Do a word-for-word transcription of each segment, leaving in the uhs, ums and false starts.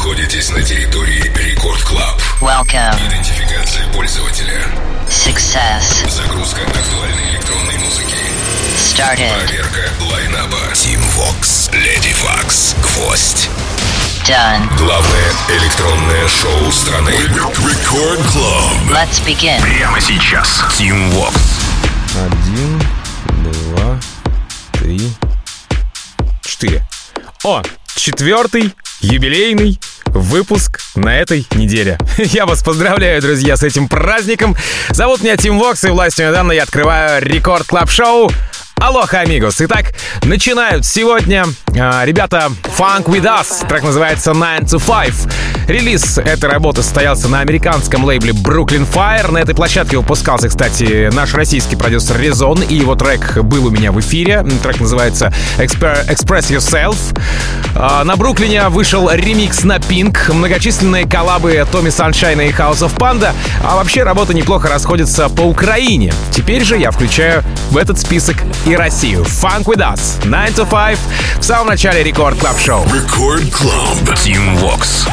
находитесь на территории Рекорд Клаб. Welcome. Идентификация пользователя. Success. Загрузка актуальной электронной музыки. Started. Проверка лайнаба. Team Vox, Lady Vox, Гвоздь. Done. Главное электронное шоу страны. Рекорд Клаб. Let's begin. Прямо сейчас. Team Vox. Один, два, три, четыре. О, четвертый юбилейный выпуск на этой неделе. Я вас поздравляю, друзья, с этим праздником. Зовут меня Team Vox, и властью данной я открываю Рекорд Клаб Шоу. Алоха, амигос. Итак, начинают сегодня э, ребята Funk With Us. Трек называется nine to five. Релиз этой работы состоялся на американском лейбле Brooklyn Fire. На этой площадке выпускался, кстати, наш российский продюсер Резон, и его трек был у меня в эфире. Трек называется Exper- Express Yourself. Э, на Бруклине вышел ремикс на Pink, многочисленные коллабы Томми Саншайна и House of Panda. А вообще работа неплохо расходится по Украине. Теперь же я включаю в этот список и Россию. Funk With Us, nine to five в самом начале Рекорд Клаб Шоу. Рекорд Клаб. Team Vox.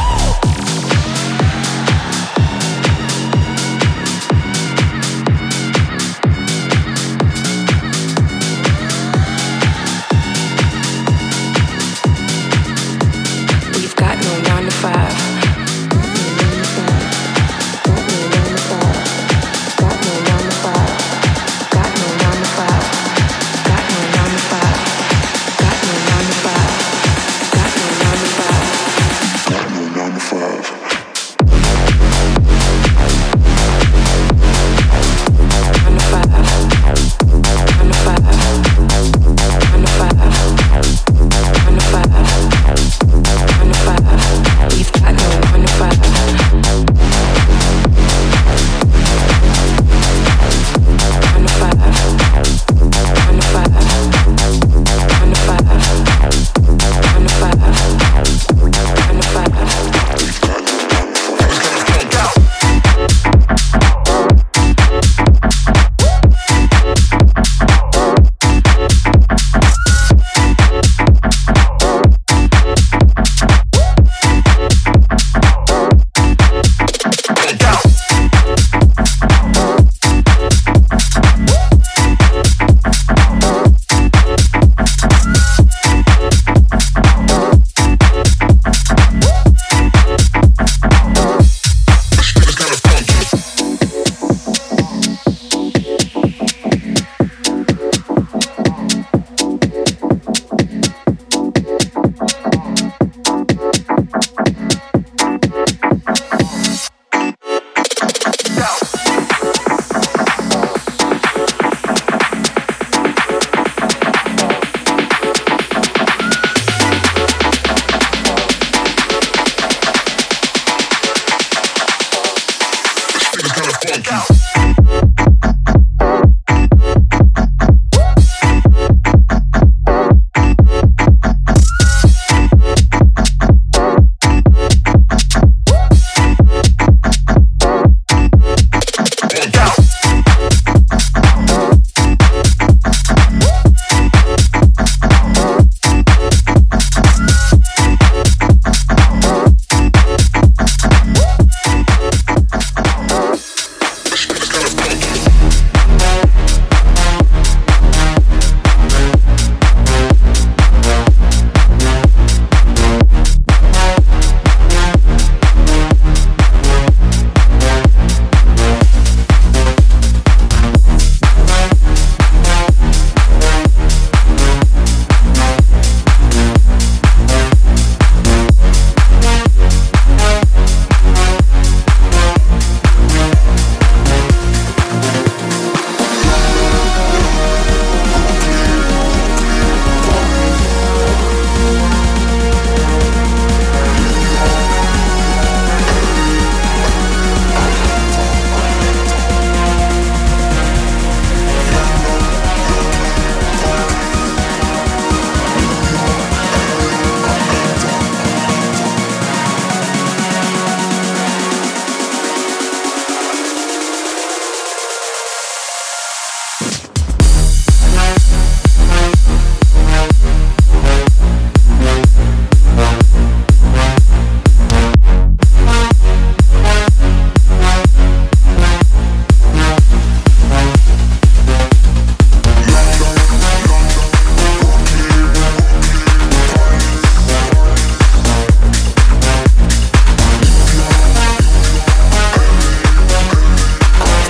Number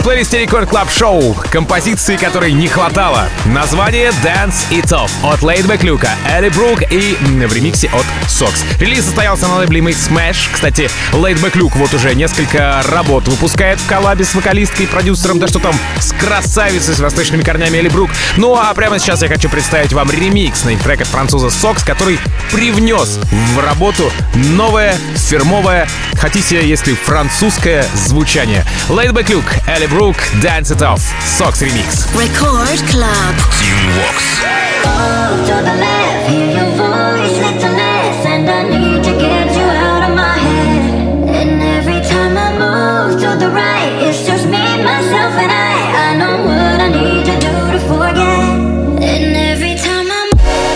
плейлисте Рекорд Клаб Шоу композиции, которой не хватало. Название Dance It Off от Laidback Luke, Элли Брук и в ремиксе от Sox. Релиз состоялся на лейбле Smash. Кстати, Laidback Luke вот уже несколько работ выпускает в коллабе с вокалисткой и продюсером, да что там, с красавицей с восточными корнями Элли Брук. Ну а прямо сейчас я хочу представить вам ремикс на их трек от француза Sox, который привнес в работу новое фирмовое, хотите, если французское звучание. Laidback Luke, Элли Брук, Dance It Off, Sox ремикс. Record Club. Team Vox. Move to the left, hear your voice, little less, and I need to get you out of my head. And every time I move to the right, it's just me, myself, and I. I know what I need to do to forget. And every time I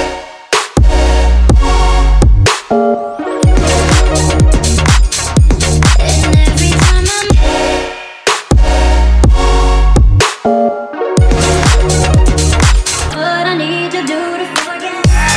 And every time I what I need to do to forget.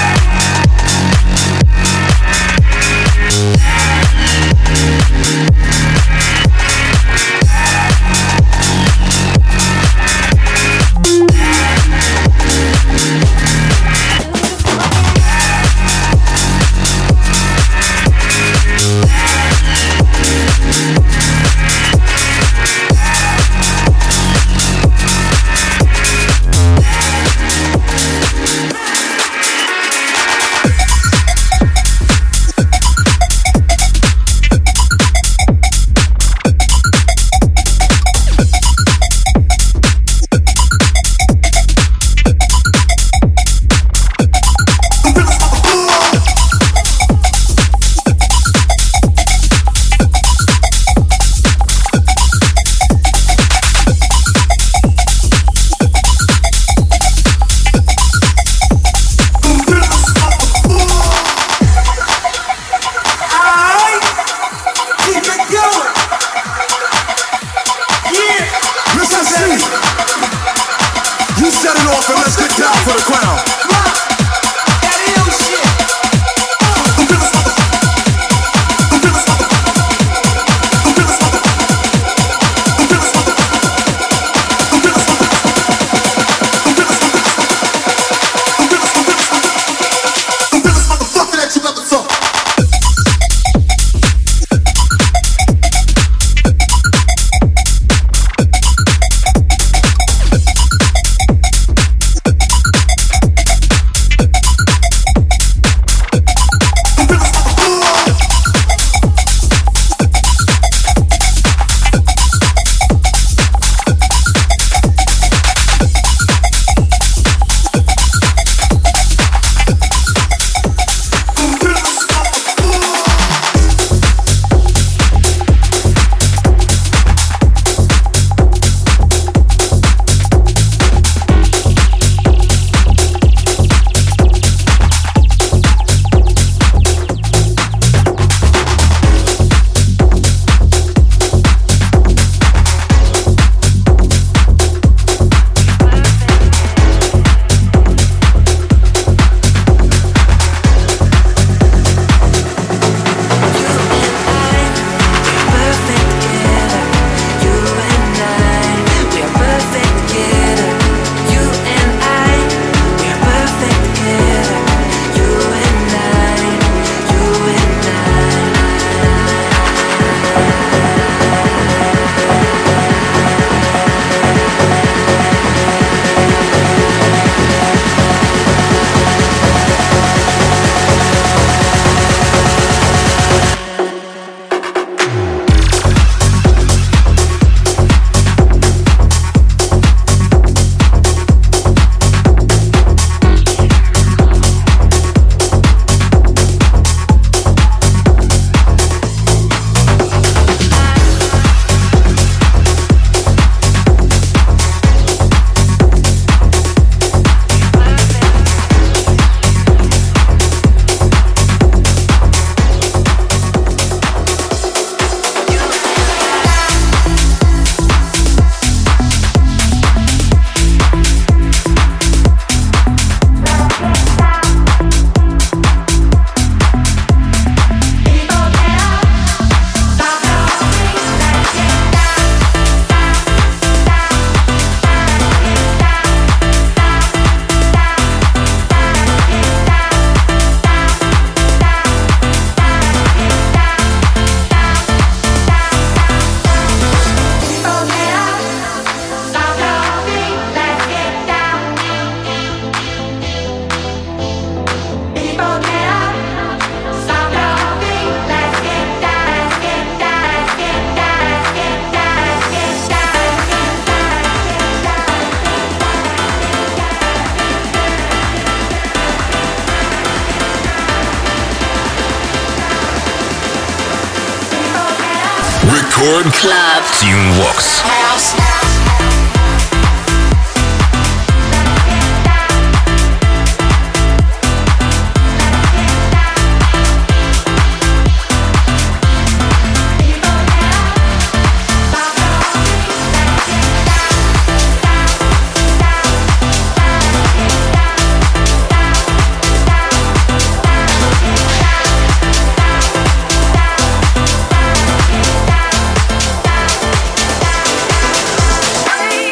Record Club. Team Vox. Bye.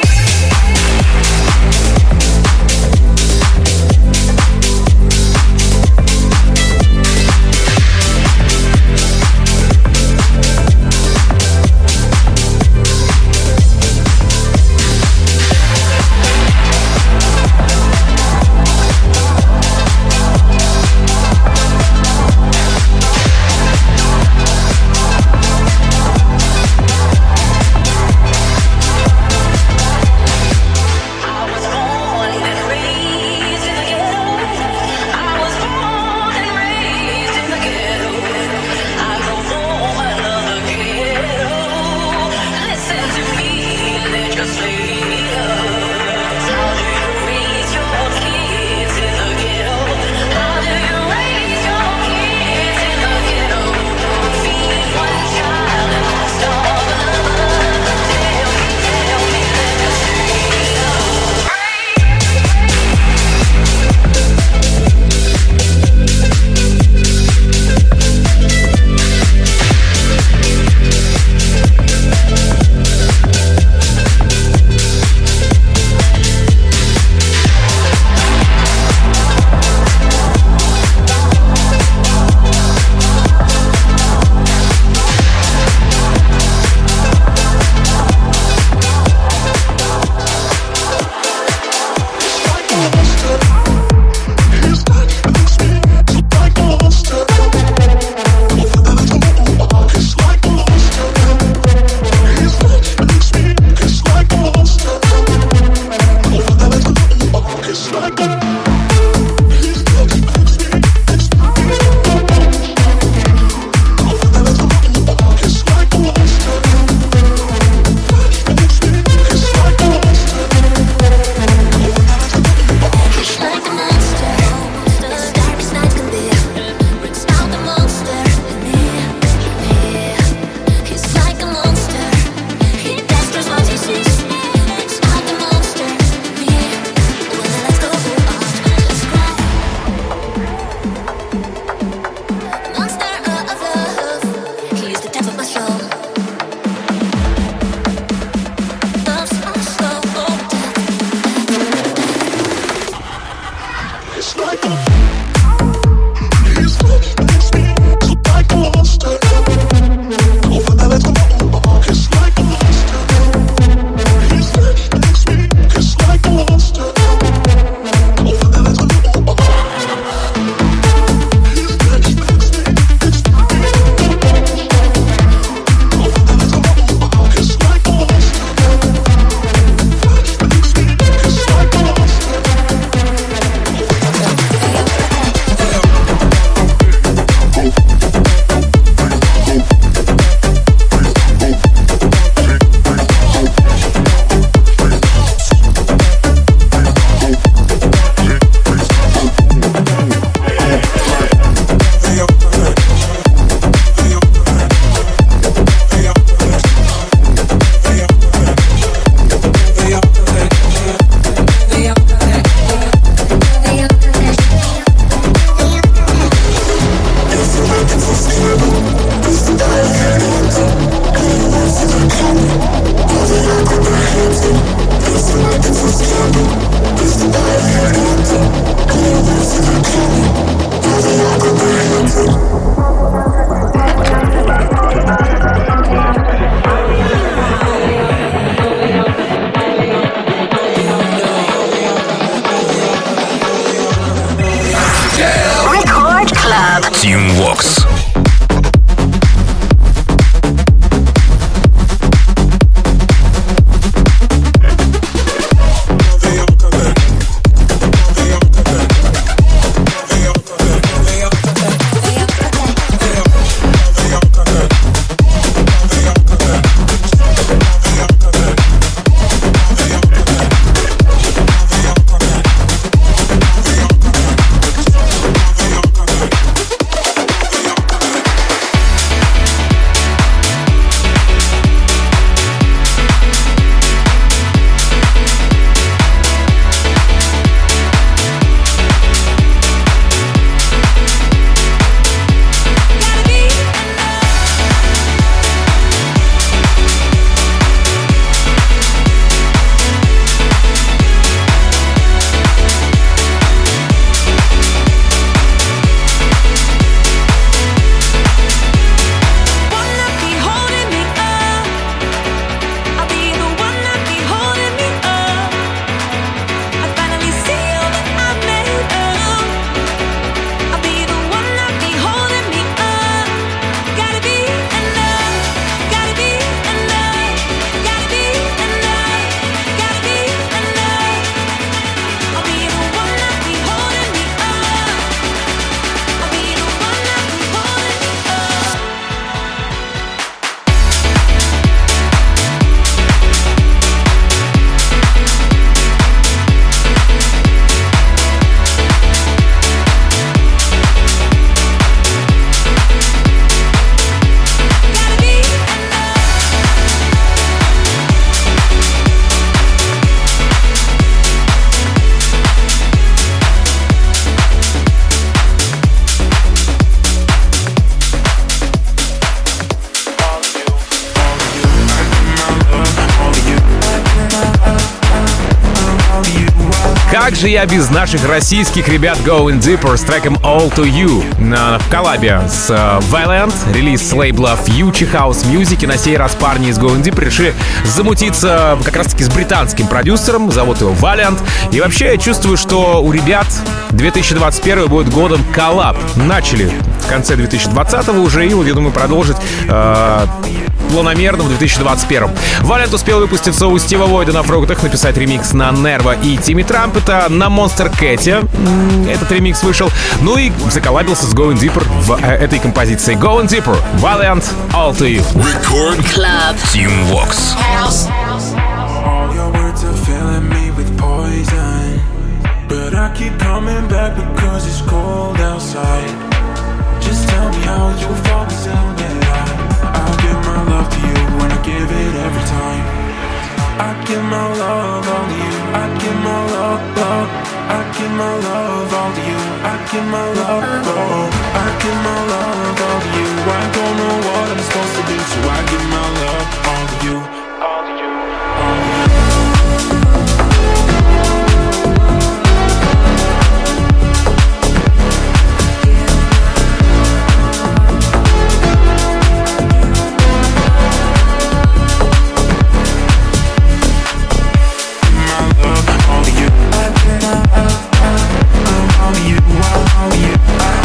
как же я без наших российских ребят Going Deeper с треком All To You на в коллабе с uh, Valiant, релиз с лейбла Future House Music, и на сей раз парни из Going Deeper решили замутиться как раз-таки с британским продюсером, зовут его Valiant, и вообще я чувствую, что у ребят две тысячи двадцать первый будет годом коллаб. Начали в конце две тысячи двадцатого уже, и вот я думаю продолжить э, планомерно в две тысячи двадцать первом. Valiant успел выпуститься у Стива Войда на фруктах, написать ремикс на Нерва и Тимми Трампета, на Monster Cat'е этот ремикс вышел, ну и заколлабился с Going Deeper в э, этой композиции. Going Deeper, Valiant, All To You. Record Club Team Vox. All your words are filling me with poison, but I keep coming back because it's cold outside. Just tell me how you fall in love that I I'll give my love to you and I give it every time. I give my love all to you. I give my love, love. I give my love all to you. I give my love, oh. I give my love all to you. I don't know what I'm supposed to do, so I give my love all to you. All to you. All to you.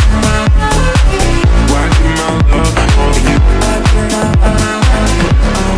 Oh,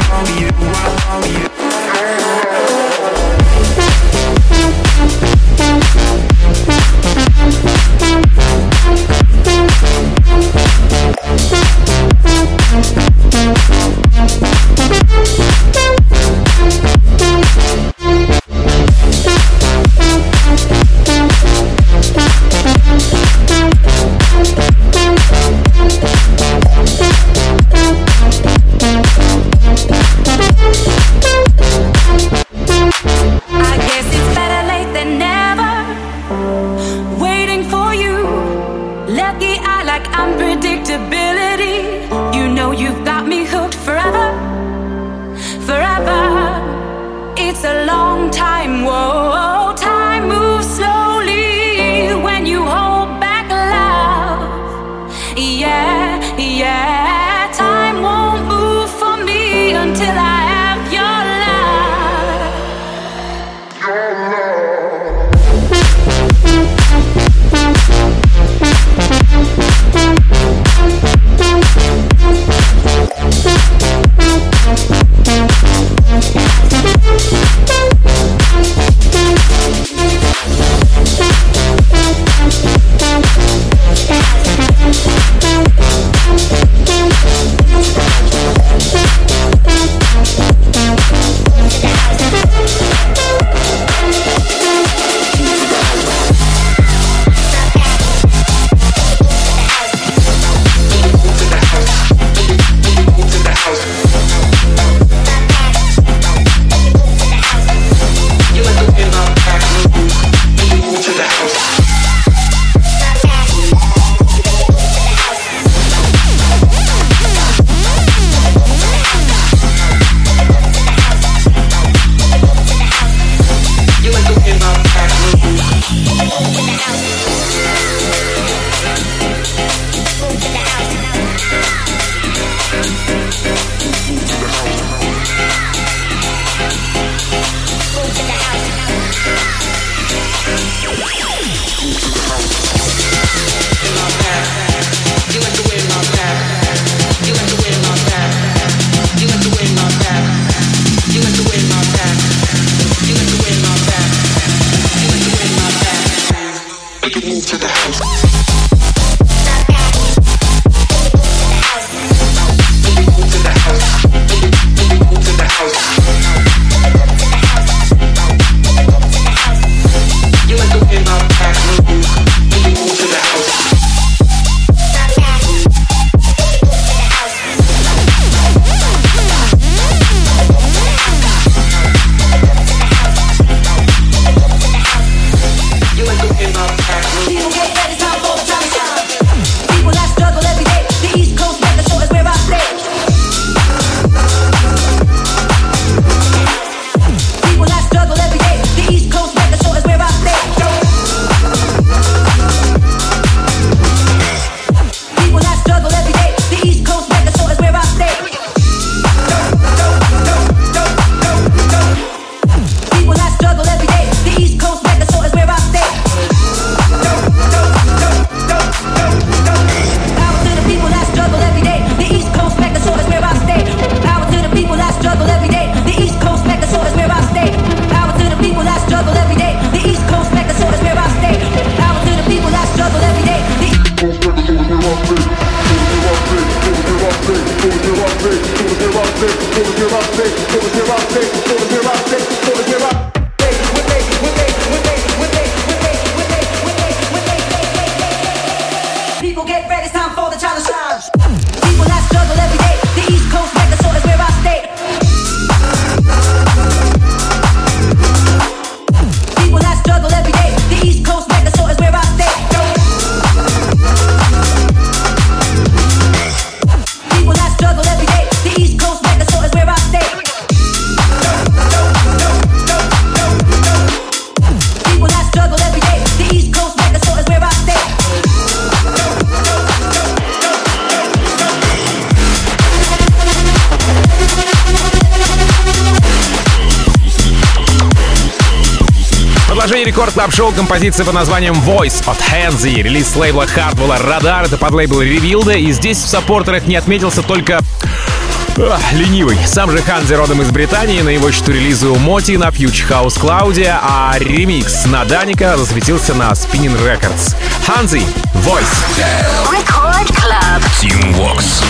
Рекорд Клаб Шоу, композиция под названием Voice от Hanzi, релиз с лейбла Hardwell Radar, это под лейбл Revealed, и здесь в саппортерах не отметился только ах, ленивый. Сам же Hanzi родом из Британии, на его счету релизы у Моти на Future House Cloud, а ремикс на Даника засветился на Spinning Records. Hanzi, Voice. Record Club. Team Vox.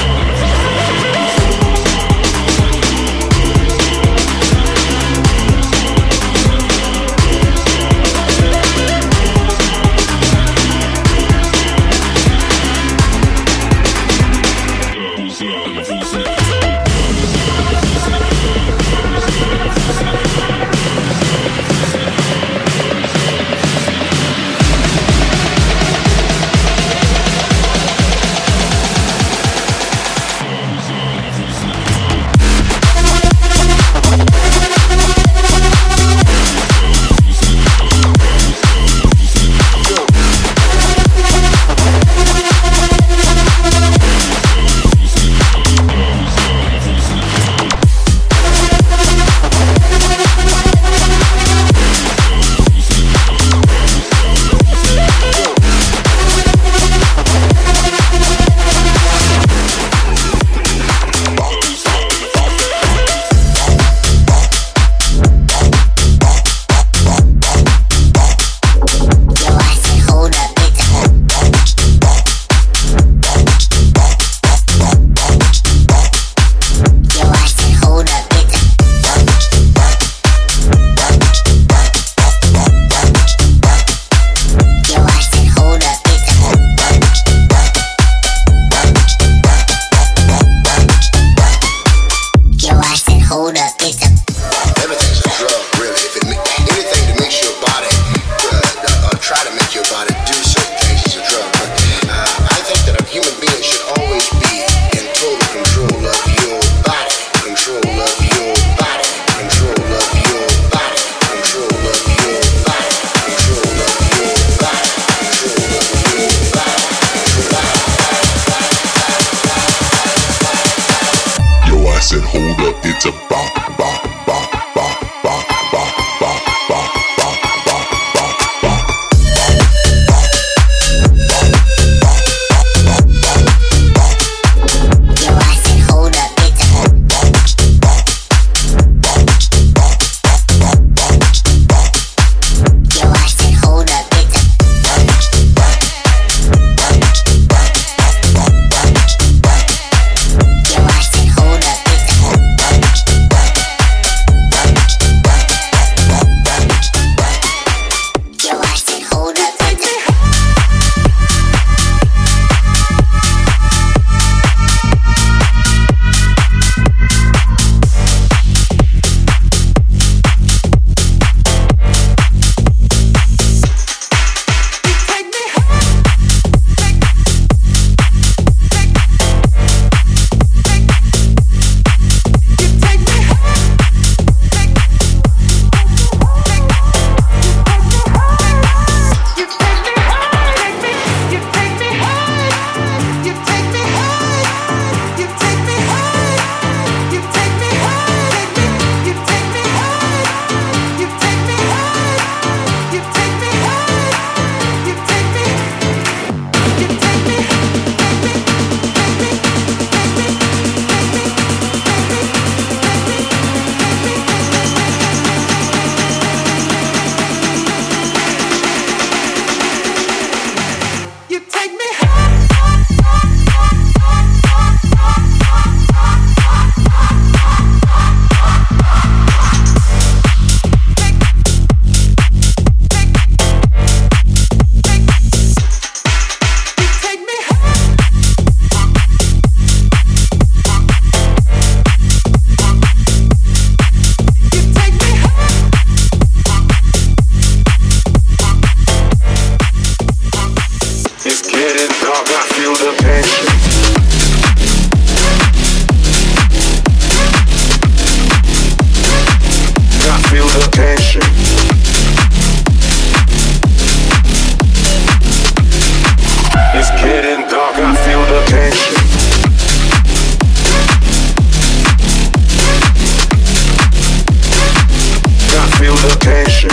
tension.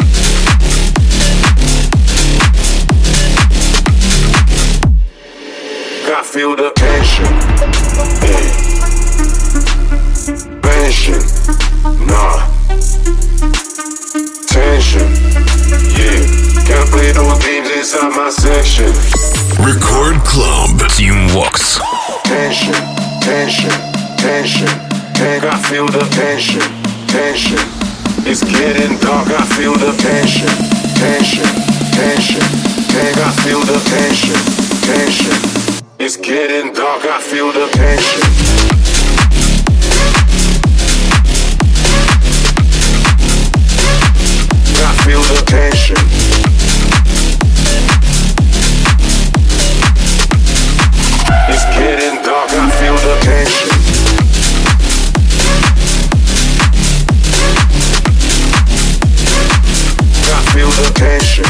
I feel the tension. Yeah. Tension. Nah. Tension. Yeah. Can't play those games inside my section. Record Club. Team Vox. Tension. Tension. Tension. Tension. I feel the tension. Tension. It's getting dark. I feel the tension. Tension. Tension. Tension. I feel the tension. Tension. It's getting dark, I feel the tension. I feel the tension. It's getting dark, I feel the tension. I feel the tension.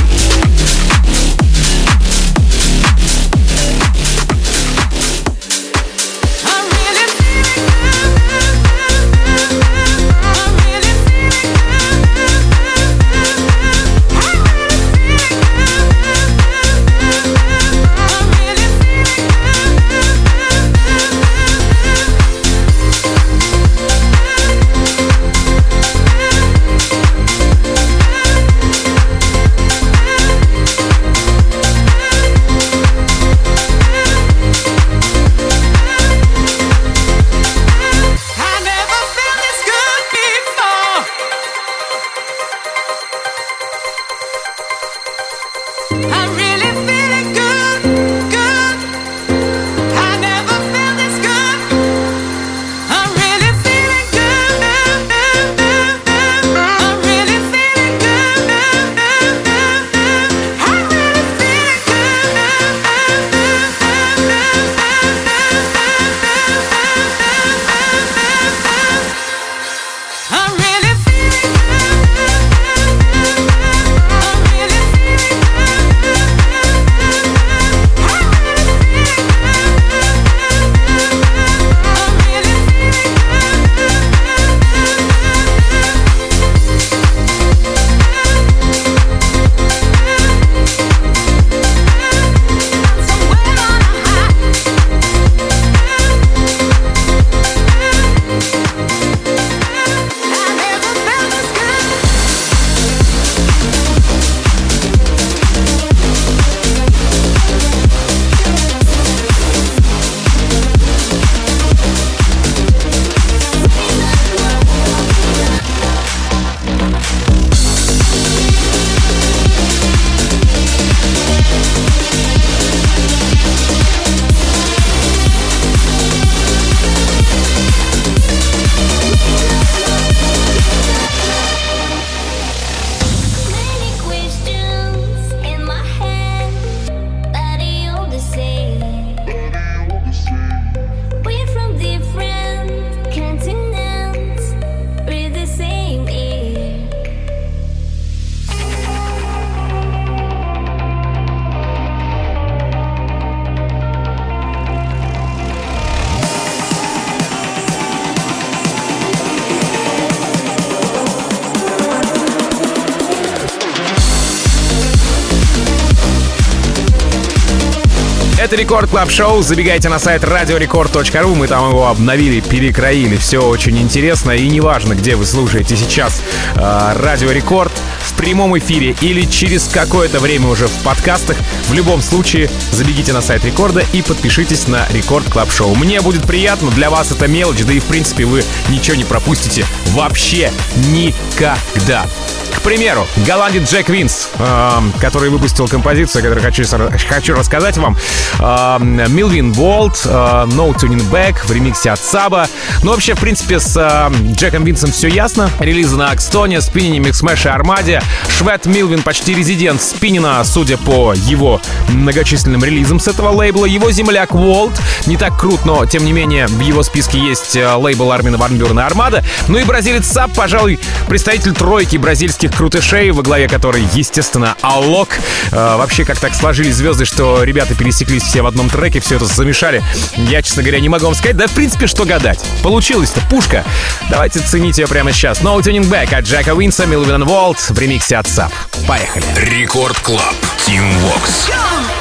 Это Рекорд Клаб Шоу. Забегайте на сайт радио рекорд точка ру. Мы там его обновили, перекроили. Все очень интересно. И неважно, где вы слушаете сейчас э, Радио Рекорд, в прямом эфире или через какое-то время уже в подкастах. В любом случае, забегите на сайт Рекорда и подпишитесь на Рекорд Клаб Шоу. Мне будет приятно. Для вас это мелочь. Да и в принципе вы ничего не пропустите вообще никогда. К примеру, голландец Джек Винс, э, который выпустил композицию, о которой хочу, хочу рассказать вам. Э, Милвин Волт, э, No Tuning Back в ремиксе от Саба. Ну, вообще, в принципе, с э, Джеком Винсом все ясно. Релизы на Акстоне, Спиннине, Миксмэш и Армаде. Швед Милвин почти резидент Спиннина, судя по его многочисленным релизам с этого лейбла. Его земляк Волт не так крут, но, тем не менее, в его списке есть лейбл Армина ван Бюрена и Армада. Ну и бразилец Саб, пожалуй, представитель тройки бразильских лондонских крутышей, во главе которой, естественно, Аллок. Э, вообще, как так сложились звезды, что ребята пересеклись все в одном треке, все это замешали. Я, честно говоря, не могу вам сказать. Да, в принципе, что гадать. Получилось-то пушка. Давайте ценить ее прямо сейчас. No Tuning Back от Джека Уинса, Милвин Волт в ремиксе от САП. Поехали. Рекорд Клаб. Team Vox.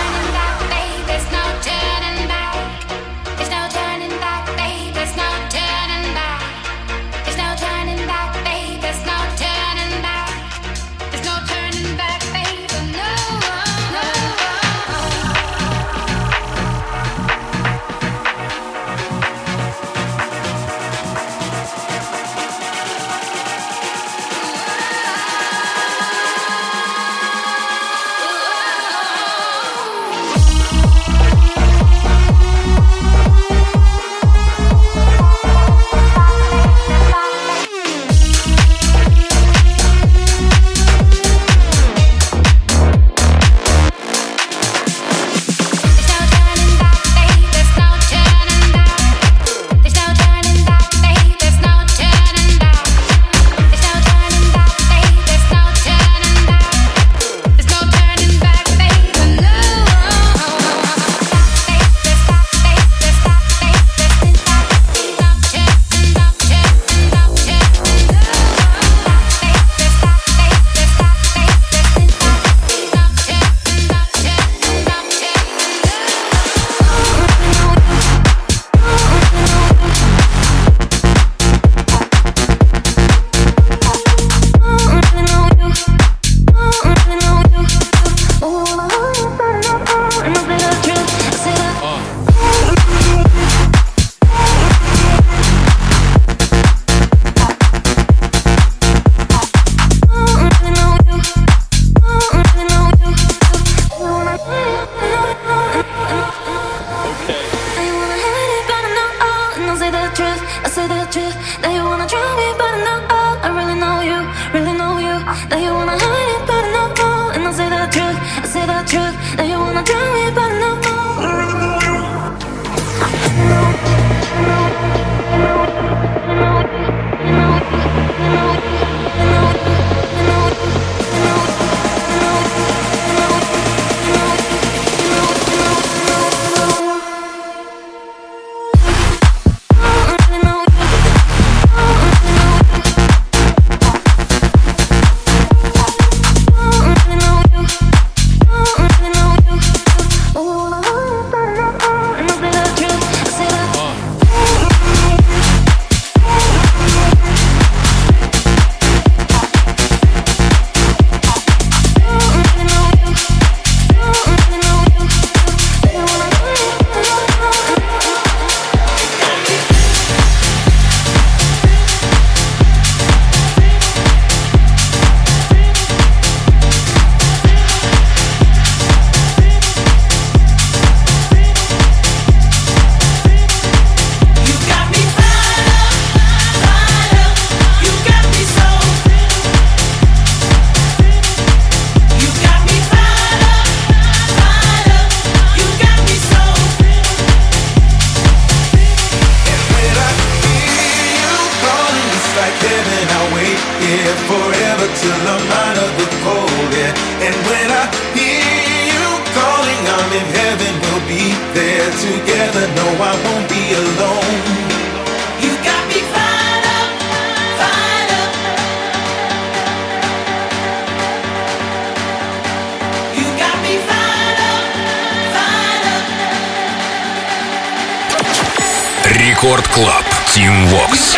Рекорд Клаб. Team Vox.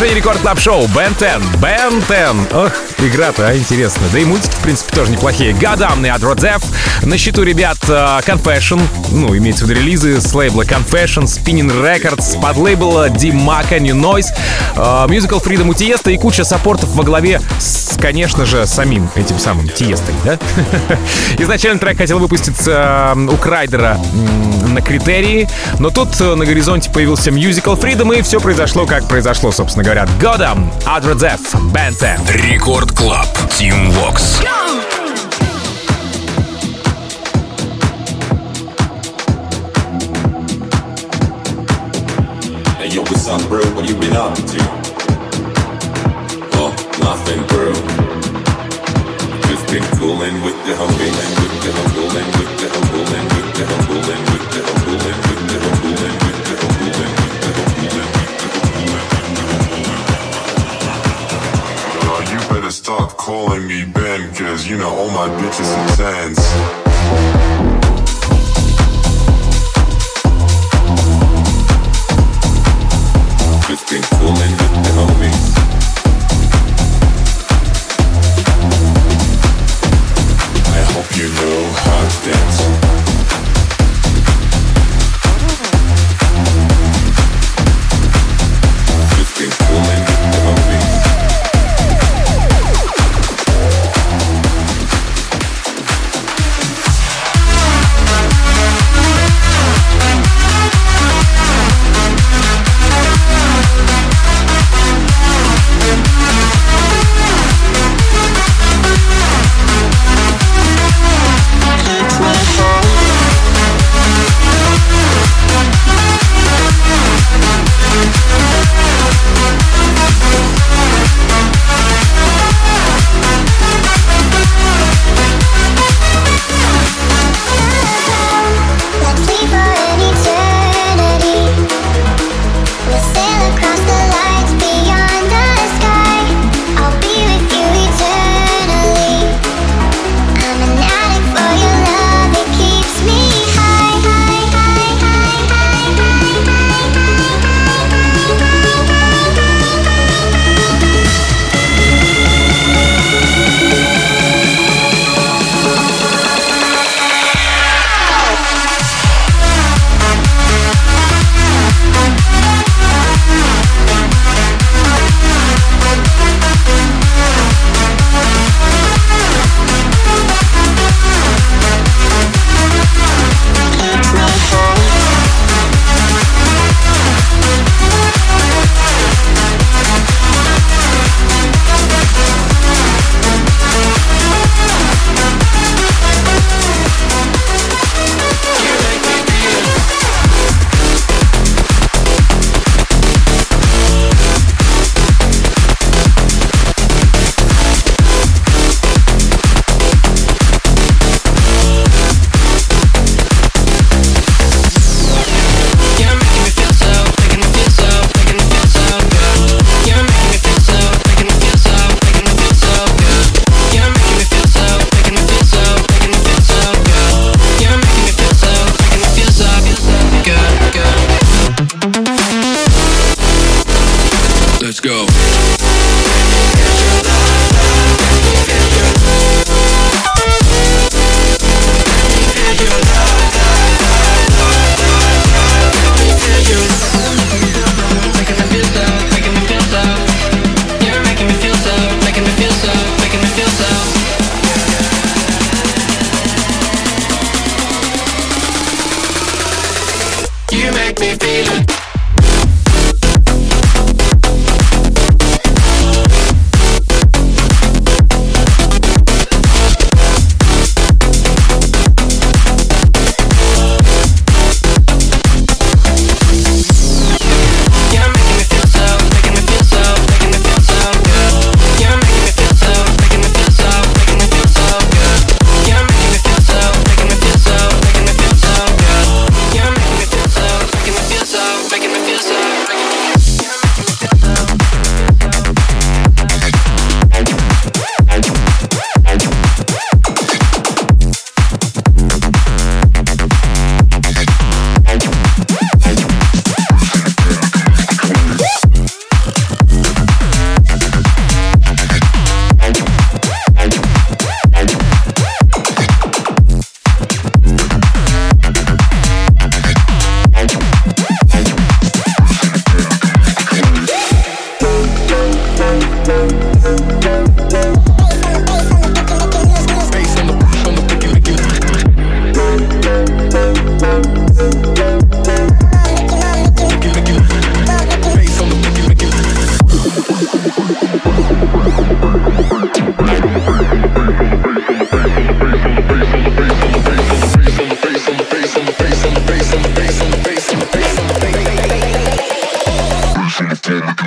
продолжение Рекорд Клаб Шоу. Бен Тен. Бен Тен. Ох, игра-то, а, интересно. Да и мультики, в принципе, тоже неплохие. Goddamn от Родзеф. На счету, ребят, Confession. Ну, имеется в виду релизы с лейбла Confession, Spinning Records, под лейбла D-Maca, New Noise, Musical Freedom у Тиеста и куча саппортов во главе с, конечно же, самим этим самым Тиестой, да? Изначально трек хотел выпуститься у Крайдера на Критерии, но тут на горизонте появился Musical Freedom, и все произошло, как произошло, собственно говоря. Goddamn, Adra Def, Band ten. Рекорд Клаб, Team Vox. Hey, yo, what's up, bro? What you been up to? Oh, nothing, bro. Just been coolin' with the homie, and with the humble, and with the humble, and with the humble, and with the humble, and with the humble, and with the humble, and with the humble. You better start calling me Ben, cause you know all my bitches are tens. Just been fooling with the homies. I hope you know how to dance. Just been fooling with the homies.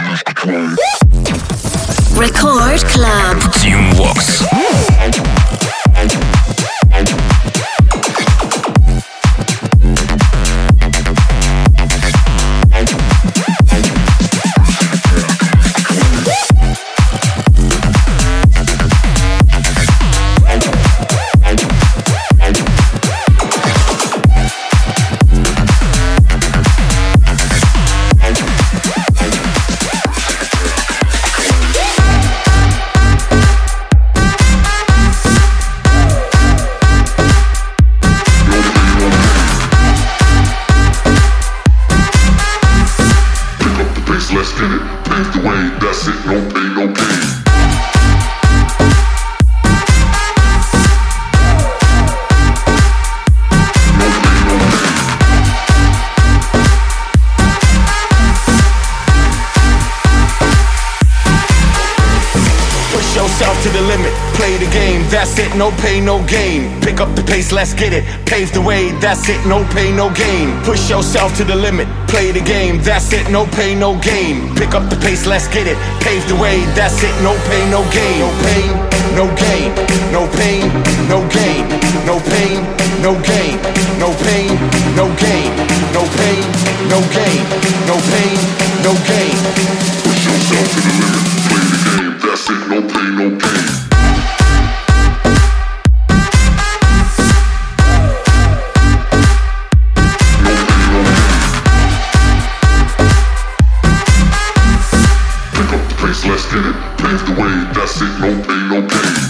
Record Club. Team Vox. That's it, no pain, no gain. Pick up the pace, let's get it. Pave the way, that's it, no pain, no gain. Push yourself to the limit, play the game. That's it, no pain, no gain. Pick up the pace, let's get it. Pave the way, that's it, no pain, no gain. No pain, no gain. No pain, no gain. No pain, no gain. No pain, no gain. No pain, no gain. No pain, no gain. Push yourself to the limit, play the game. That's it, no pain, no gain. Let's get it, pave the way, that's it, no pain, no gain.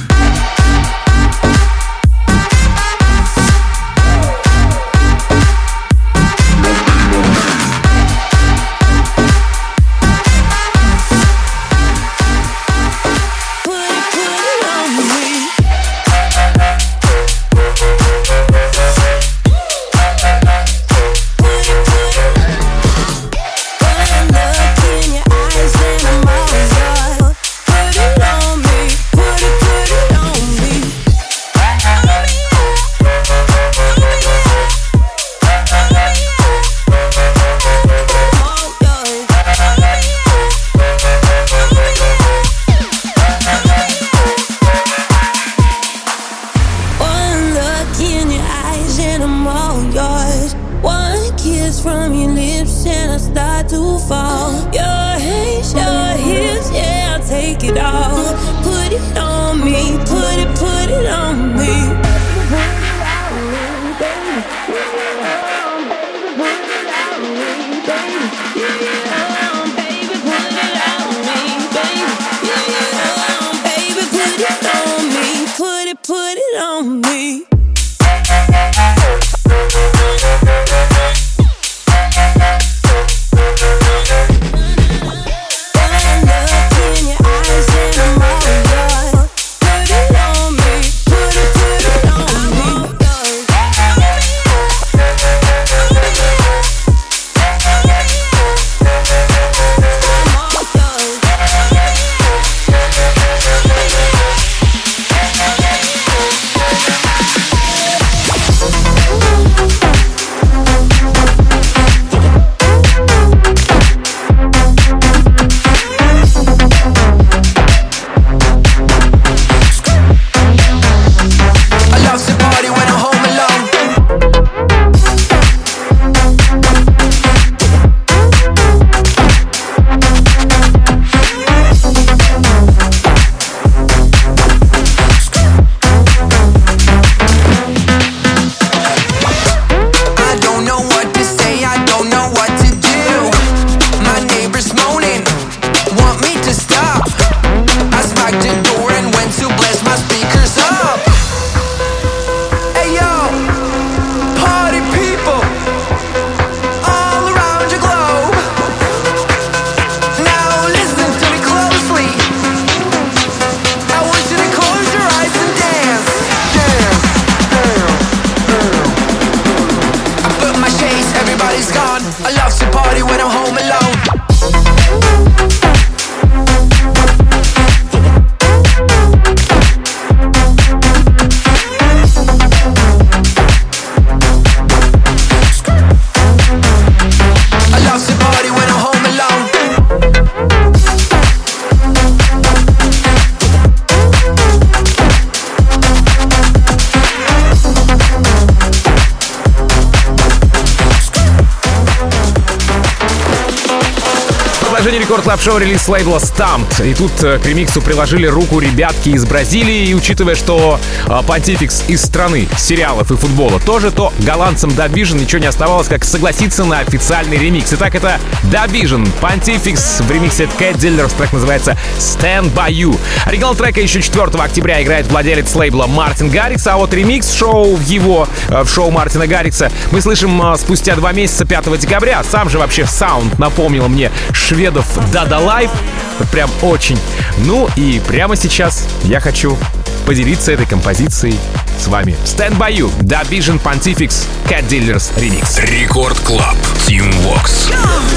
Сегодня Рекорд Клаб Шоу релиз лейбла Stamped. И тут э, к ремиксу приложили руку ребятки из Бразилии. И учитывая, что э, Pontifex из страны сериалов и футбола тоже, то голландцам Dub Vision ничего не оставалось, как согласиться на официальный ремикс. Итак, это Dub Vision, Pontifex в ремиксе Cat Dealers. Трек называется Stand By You. Оригинал трека еще четвёртого октября играет владелец лейбла Мартин Гаррикс, а вот ремикс шоу в его, в шоу Мартина Гаррикса мы слышим спустя два месяца, пятого декабря. Сам же вообще саунд напомнил мне шведов Dada Life. Вот прям очень. Ну и прямо сейчас я хочу поделиться этой композицией с вами. Stand By You, Dub Vision, Pontifex, Cat Dealers ремикс. Рекорд Клаб, Team Vox.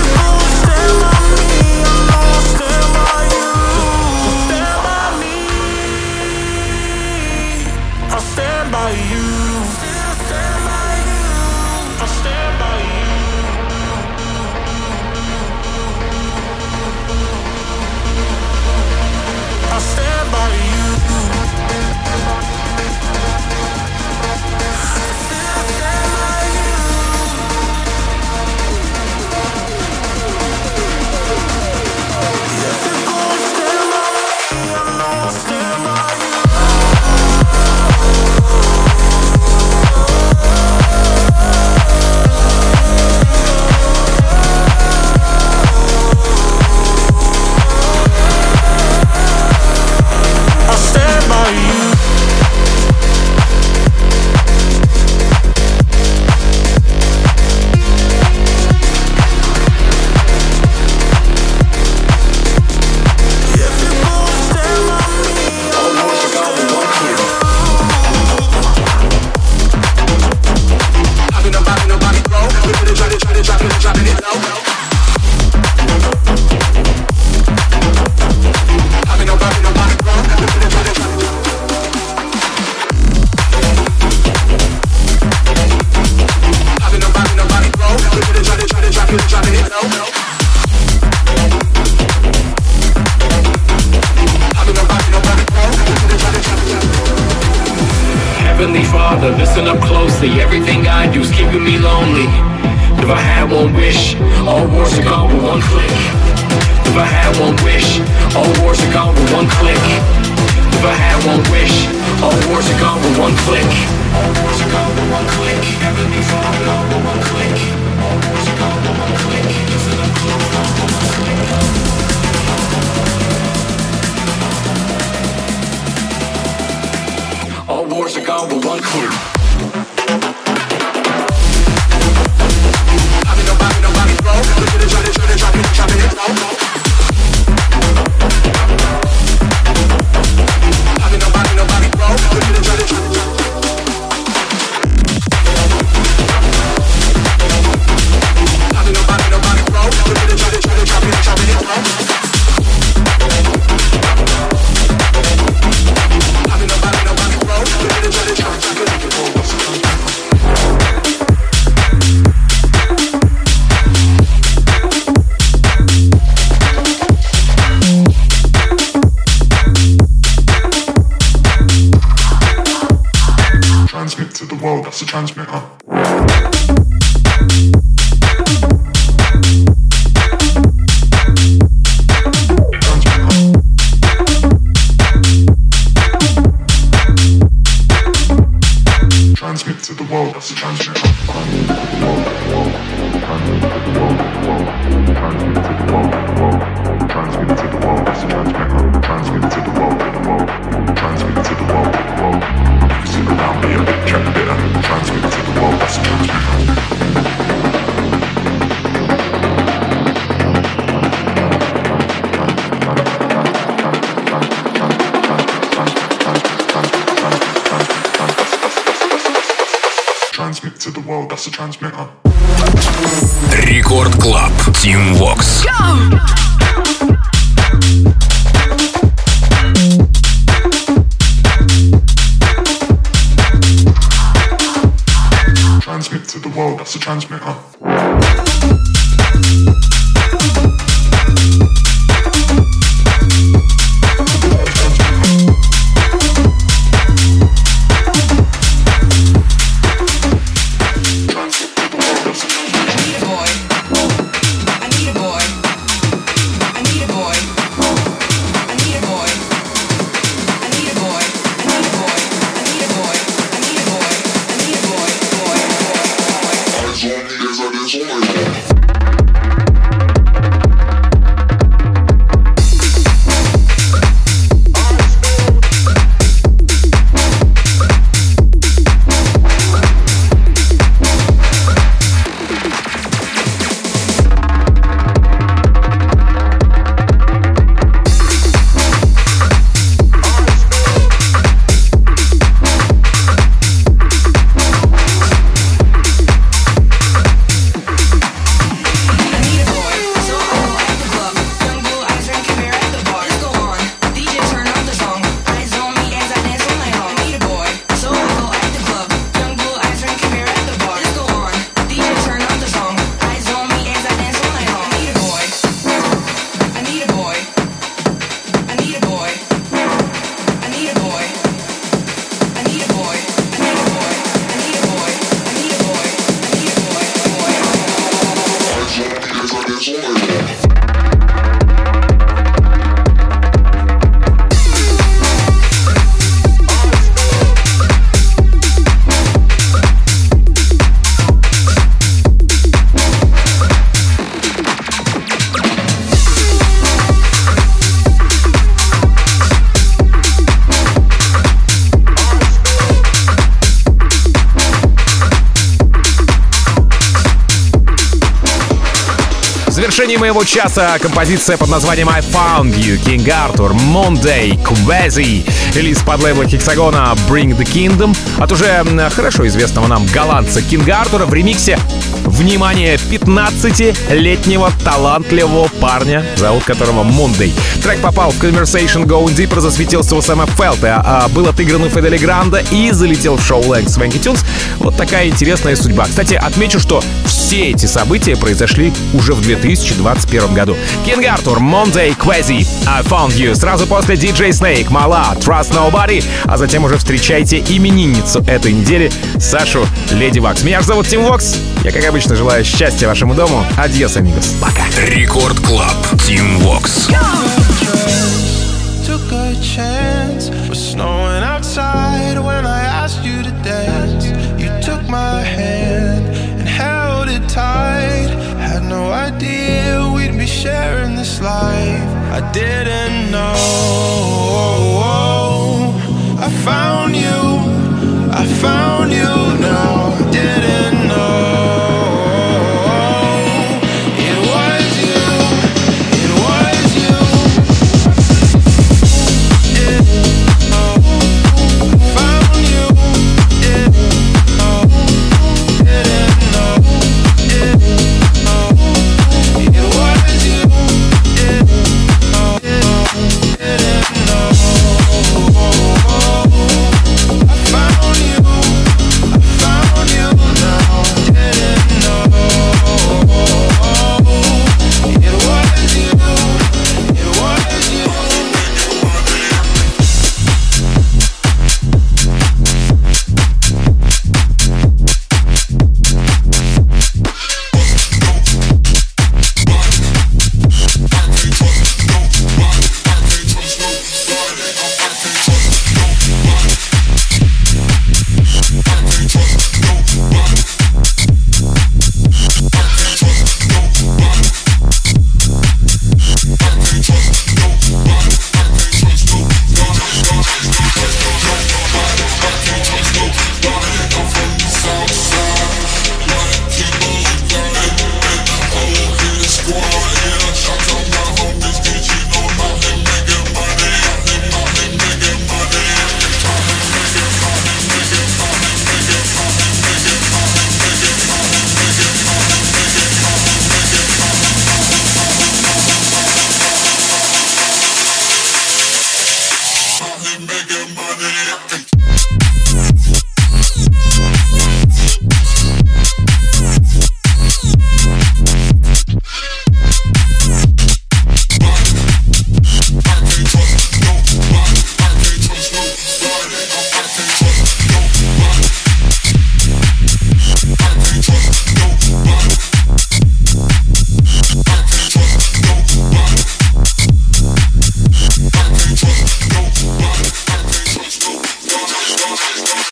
Heavenly Father, listen up closely. Everything I do is keeping me lonely. If I had one wish, all wars are gone with one click. If I had one wish, all wars are gone with one click. If I had one wish, all wars are gone with one click. All wars are gone with one click. Heavenly Father, gone with one click. All wars are gone with one click. Listen up close, gone with one click. All wars are gone with one click. I mean nobody, nobody, bro. Look at it, try to, try to, drop it, drop it, low. I mean nobody, nobody, bro. Look at it, try to, try to, drop it. I mean nobody, nobody, bro. Look at it, try to, try to, drop it, drop it, low. I mean nobody, nobody, bro. Look at it, try to, try to, drop it, low. Transmit to the world, that's a transmitter. Transmit to the world, that's a transmitter. Transmit to the world, that's a transmitter. Transmit to the world, transmit to the world. Sit around, be a bit, check a bit, and transmit to the world, that's a transmitter. Transmit to the world, that's a transmitter. Рекорд Клаб, Team Vox. Transmit to the world, that's a transmitter. I need a boy. I need a boy. завершении моего часа композиция под названием I Found You, King Arthur, Monday, Quasi. Релиз под лейбла Hexagona Bring the Kingdom от уже хорошо известного нам голландца Кинга Артура в ремиксе, внимание, пятнадцатилетнего талантливого парня, зовут которого Monday. Трек попал в Conversation Going Deeper, засветился у Сэма Фелта, а был отыгран у Федели Гранда и залетел в шоу Length Swanky Tunes. Вот такая интересная судьба. Кстати, отмечу, что все эти события произошли уже в две тысячи двадцать первом году. King Arthur, Monday, Quasi, I Found You. Сразу после ди джей Snake, Mala, Trust Nobody. А затем уже встречайте именинницу этой недели, Сашу Леди Вакс. Меня же зовут Тим Вокс. Я, как обычно, желаю счастья вашему дому. Адьос, амигос. Пока. Рекорд Клаб. Тим Вокс.